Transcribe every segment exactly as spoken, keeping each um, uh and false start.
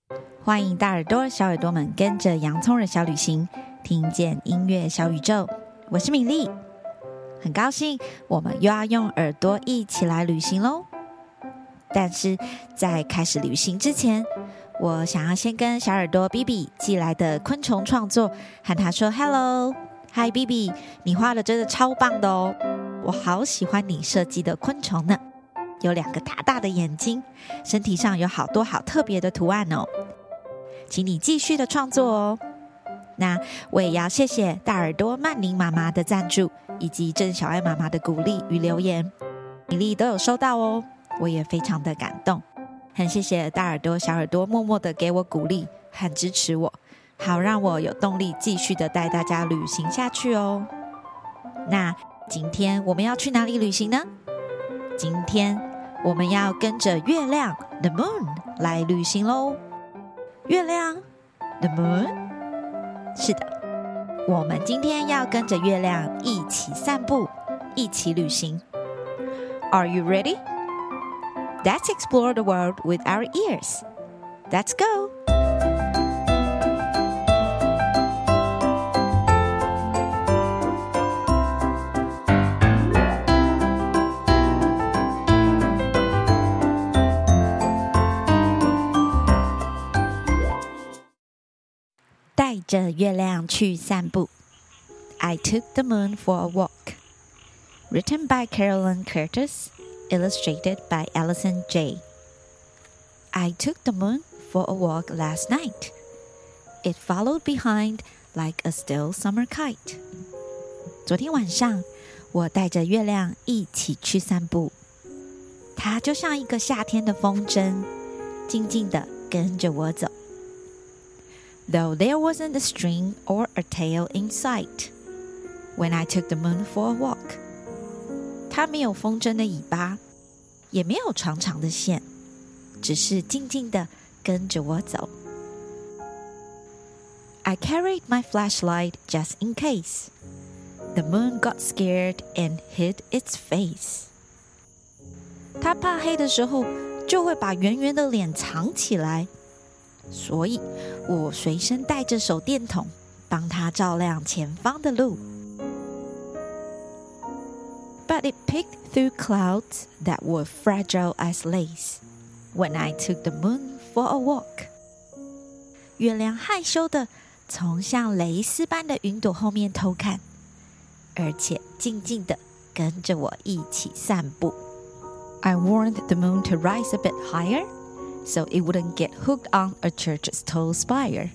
歡迎大耳朵、小耳朵們跟着洋蔥耳小旅行，聽見音樂小宇宙。我是米粒，很高興我們又要用耳朵一起來旅行嘍。但是在開始旅行之前，我想要先跟小耳朵 B B 寄來的昆蟲創作和他說 Hello。Hi B B， 你畫的真的超棒的哦，我好喜歡你設計的昆蟲呢，有兩個大大的眼睛，身體上有好多好特別的圖案哦。請你繼續的創作哦。那我也要謝謝大耳朵曼玲媽媽的贊助，以及鄭小愛媽媽的鼓勵與留言，米粒都有收到哦，我也非常的感動。很謝謝大耳朵、小耳朵默默的給我鼓勵和支持我，好讓我有動力繼續的帶大家旅行下去哦。那今天我們要去哪裡旅行呢？今天我們要跟着月亮 The Moon 來旅行嘍。月亮 The Moon？ 是的，我們今天要跟着月亮一起散步，一起旅行。Are you ready? Let's explore the world with our ears. Let's go! 帶着月亮去散步。I took the moon for a walk. Written by Carolyn Curtis, illustrated by Allison J. I took the moon for a walk last night. It followed behind like a still summer kite. 昨天晚上，我帶着月亮一起去散步。它就像一個夏天的風箏，靜靜地跟着我走。Though there wasn't a string or a tail in sight, when I took the moon for a walk. 它沒有風箏的尾巴，也沒有長長的線，只是靜靜地跟着我走。I carried my flashlight just in case. The moon got scared and hid its face. 它怕黑的時候，就會把圓圓的臉藏起來。所以我隨身帶着手電筒，幫它照亮前方的路。But it peeked through clouds that were fragile as lace when I took the moon for a walk. 月亮害羞地從像蕾絲般的雲朵後面偷看，而且靜靜地跟着我一起散步。I warned the moon to rise a bit higher.So it wouldn't get hooked on a church's tall spire.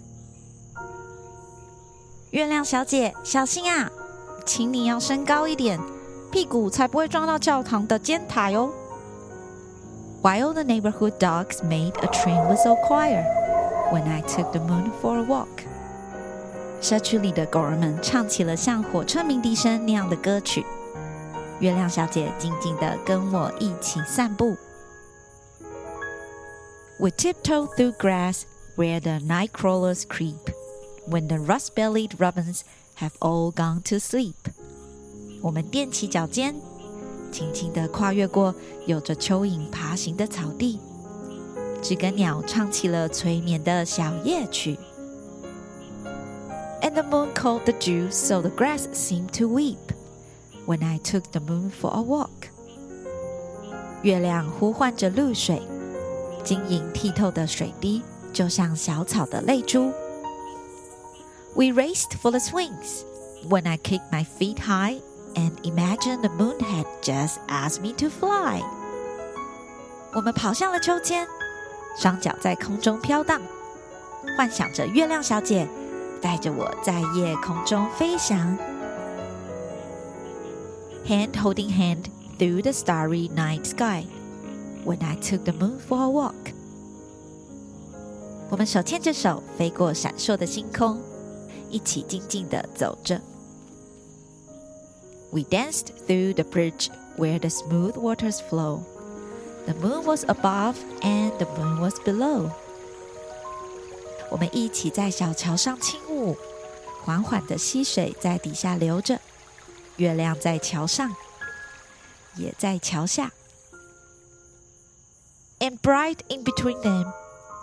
月亮小姐，小心啊！請你要升高一點，屁股才不會撞到教堂的尖塔喲。While the neighborhood dogs made a train whistle choir when I took the moon for a walk. 社區裡的狗兒們唱起了像火車鳴笛聲那樣的歌曲。月亮小姐靜靜地跟我一起散步。We tiptoe through grass where the night crawlers creep when the rust-bellied robins have all gone to sleep. 我們踮起腳尖，輕輕地跨越過有着蚯蚓爬行的草地，知更鳥唱起了催眠的小夜曲。And the moon called the dew so the grass seemed to weep when I took the moon for a walk. 月亮呼喚着露水，晶瑩剔透的水滴就像小草的淚珠。We raced for the swings when I kicked my feet high and imagined the moon had just asked me to fly. 我們跑向了秋千，雙腳在空中飄蕩，幻想着月亮小姐帶着我在夜空中飛翔。Hand holding hand through the starry night sky.When I took the moon for a walk. 我們手牽着手飛過閃爍的星空，一起靜靜地走着。We danced through the bridge where the smooth waters flow. The moon was above and the moon was below. 我們一起在小橋上輕舞，緩緩的溪水在底下流着，月亮在橋上，也在橋下。And bright in between them,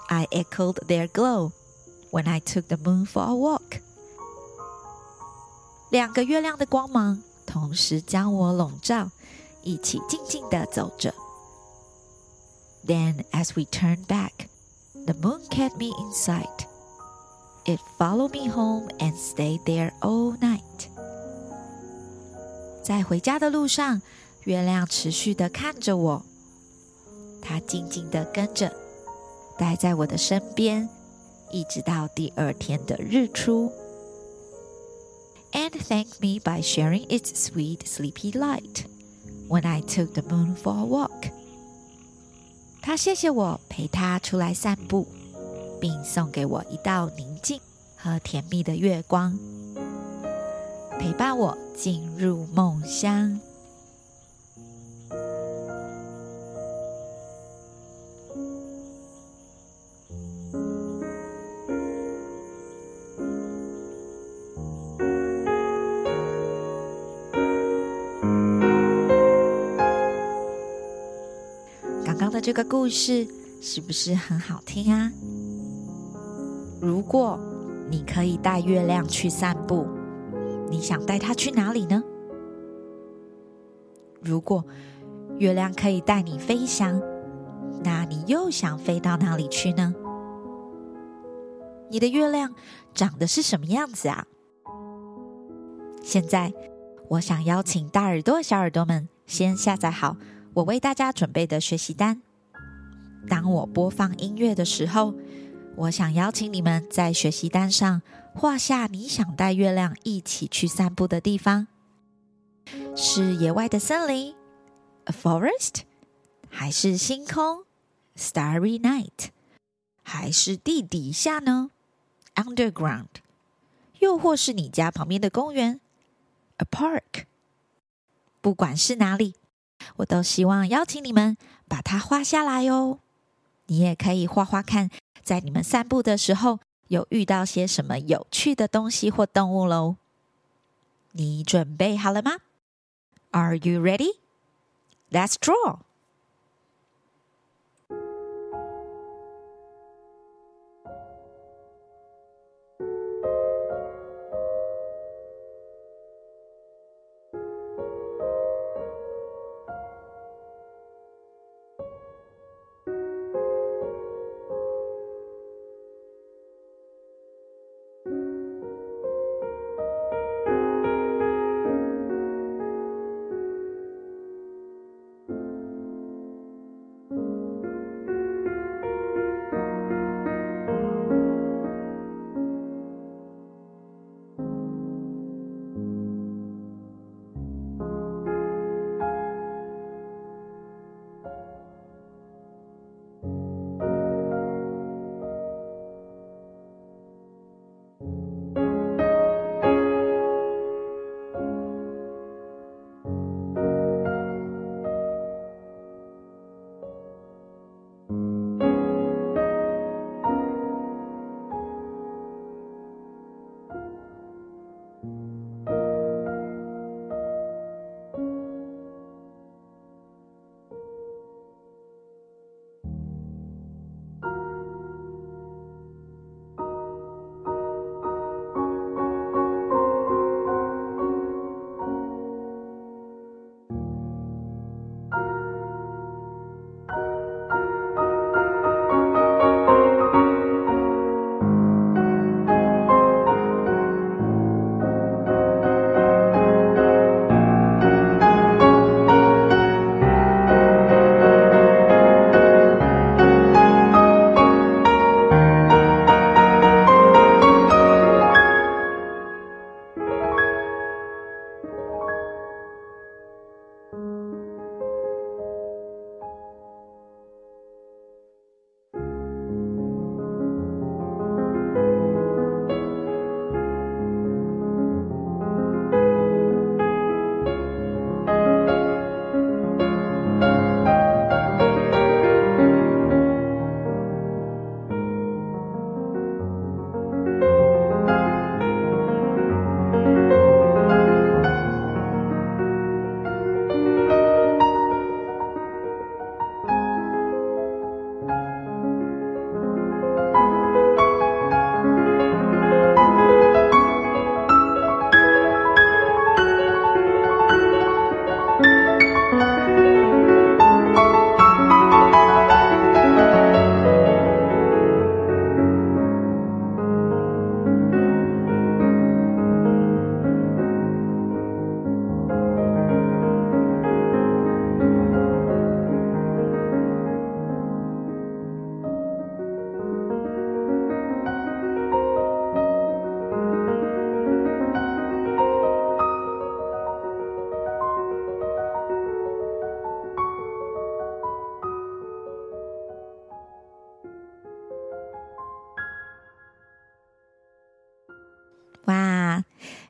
I echoed their glow when I took the moon for a walk. 两個月亮的光芒同時將我籠罩，一起靜靜地走着。Then, as we turned back, the moon kept me in sight. It followed me home and stayed there all night. 在回家的路上，月亮持續地看着我，它靜靜地跟着，待在我的身邊，一直到第二天的日出。And thanked me by sharing its sweet, sleepy light when I took the moon for a walk. 他謝謝我陪他出來散步，並送給我一道寧靜和甜蜜的月光，陪伴我進入夢鄉。剛剛的這個故事是不是很好聽啊？如果你可以帶月亮去散步，你想帶它去哪裡呢？如果月亮可以帶你飛翔，那你又想飛到哪裡去呢？你的月亮長得是什麼樣子啊？現在，我想邀請大耳朵、小耳朵們先下載好我為大家準備的學習單。當我播放音樂的時候，我想邀請你們在學習單上畫下你想帶月亮一起去散步的地方。是野外的森林 ，a forest， 還是星空 ，starry night， 還是地底下呢 ，underground， 又或是你家旁邊的公園 ，a park。不管是哪裡，我都希望邀請你們把它畫下來哦。你也可以畫畫看，在你們散步的時候有遇到些什麼有趣的東西或動物嘍。你準備好了嗎？ Are you ready? Let's draw!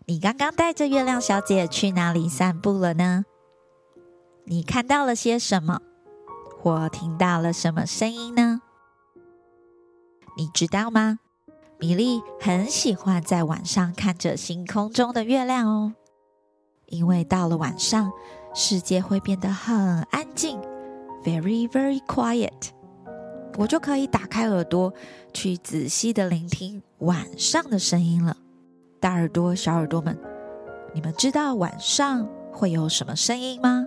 你剛剛帶着月亮小姐去哪裡散步了呢？你看到了些什麼？或聽到了什麼聲音呢？你知道嗎？米莉很喜歡在晚上看着星空中的月亮哦，因為到了晚上，世界會變得很安靜 ，very very quiet。我就可以打開耳朵，去仔細的聆聽晚上的聲音了。大耳朵、小耳朵們，你們知道晚上會有什麼聲音嗎？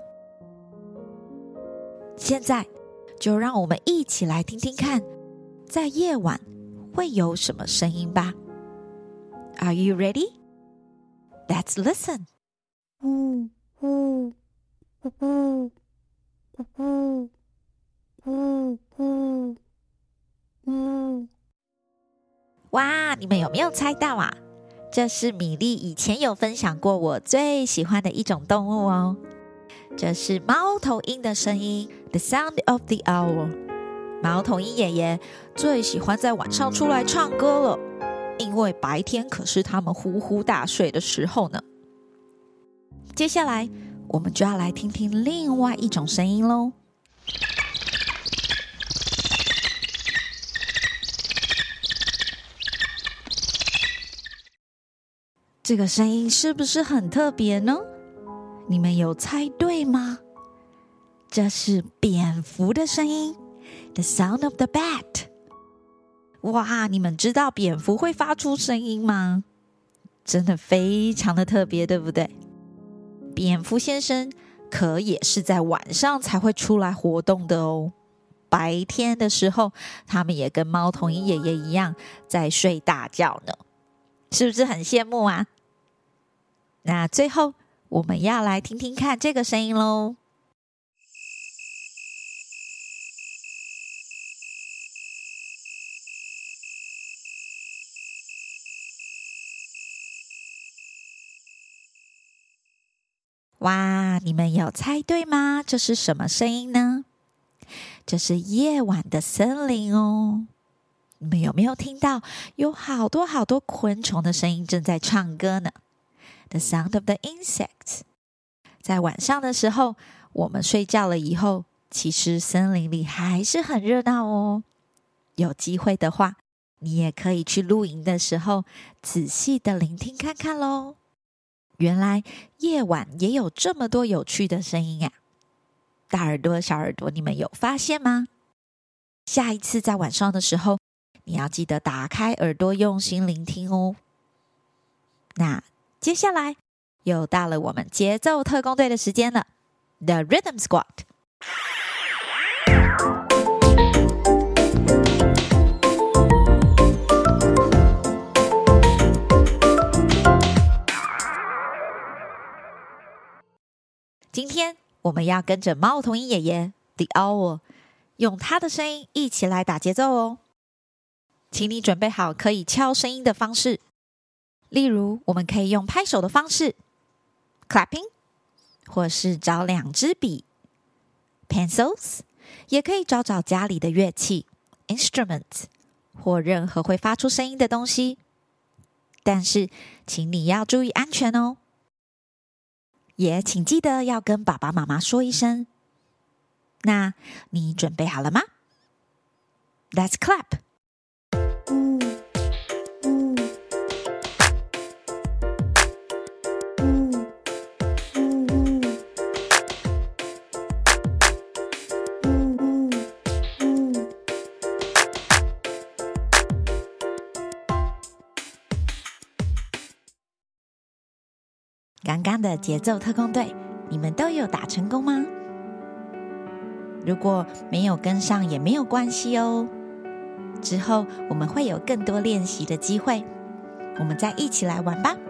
現在就讓我們一起來聽聽看，在夜晚會有什麼聲音吧。Are you ready? Let's listen. 嗚嗚嗚嗚嗚嗚嗚嗚！ 哇，你們有沒有猜到啊？這是米莉以前有分享過我最喜歡的一種動物哦。這是貓頭鷹的聲音 ，The sound of the owl。貓頭鷹爺爺最喜歡在晚上出來唱歌了，因為白天可是他們呼呼大睡的時候呢。接下來，我們就要來聽聽另外一種聲音嘍。這個聲音是不是很特別呢？你們有猜對嗎？這是蝙蝠的聲音 ，The sound of the bat。哇，你們知道蝙蝠會發出聲音嗎？真的非常的特別，對不對？蝙蝠先生可也是在晚上才會出來活動的哦。白天的時候，他們也跟貓頭鷹爺爺一樣在睡大覺呢，是不是很羨慕啊？那最後我們要來聽聽看這個聲音嘍。哇，你們有猜對嗎？這是什麼聲音呢？這是夜晚的森林哦。你們有沒有聽到有好多好多昆蟲的聲音正在唱歌呢？ The sound of the insects。 在晚上的時候，我們睡覺了以後，其實森林裡還是很熱鬧哦。有機會的話，你也可以去露營的時候仔細的聆聽看看嘍。原來夜晚也有這麼多有趣的聲音啊！大耳朵、小耳朵，你們有發現嗎？下一次在晚上的時候，你要記得打開耳朵，用心聆聽哦。那接下來又到了我們節奏特工隊的時間了 ，The Rhythm Squad。今天我們要跟着貓頭鷹爺爺 The Owl， 用他的聲音一起來打節奏哦。請你準備好可以敲聲音的方式，例如我們可以用拍手的方式 Clapping， 或是找兩支筆 Pencils， 也可以找找家裡的樂器 Instruments， 或任何會發出聲音的東西。但是請你要注意安全哦。也請記得要跟爸爸媽媽說一聲。那你準備好了嗎？ Let's clap。 嗚嗚嗚嗚嗚嗚嗚。 刚剛的節奏特工隊，你們都有打成功嗎？如果沒有跟上也沒有關係哦。之後我們會有更多練習的機會，我們再一起來玩吧。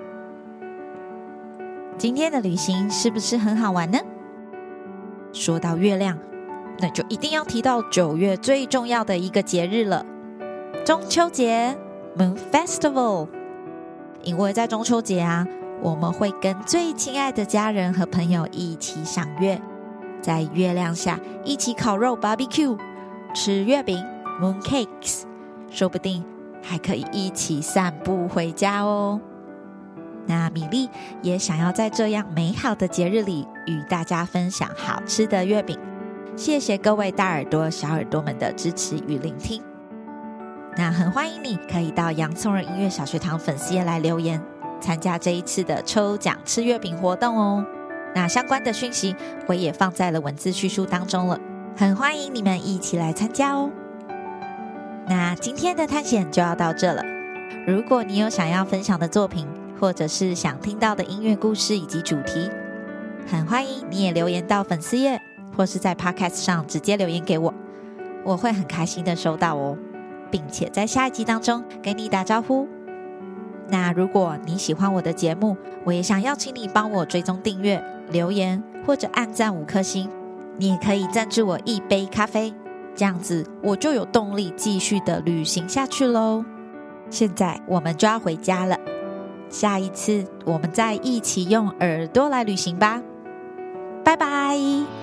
今天的旅行是不是很好玩呢？說到月亮，那就一定要提到九月最重要的一個節日了——中秋節 Moon Festival。因為在中秋節啊，我們會跟最親愛的家人和朋友一起賞月，在月亮下一起烤肉 barbecue， 吃月餅 moon cakes， 說不定還可以一起散步回家哦。 那米粒也想要在這樣美好的節日裡與大家分享好吃的月餅。謝謝各位大耳朵、小耳朵們的支持與聆聽。那很歡迎你可以到洋蔥耳音樂小學堂粉絲頁來留言，參加這一次的抽獎吃月餅活動哦。那相關的訊息我也放在了文字敘述當中了，很歡迎你們一起來參加哦。那今天的探險就要到這了。如果你有想要分享的作品，或者是想聽到的音樂故事以及主題，很歡迎你也留言到粉絲頁，或是在 Podcast 上直接留言給我，我會很開心的收到哦，並且在下一集當中給你打招呼。那如果你喜歡我的節目，我也想邀請你幫我追蹤訂閱、留言或者按讚五顆星，你也可以贊助我一杯咖啡，這樣子我就有動力繼續的旅行下去嘍。現在我們就要回家了，下一次我們再一起用耳朵來旅行吧，拜拜。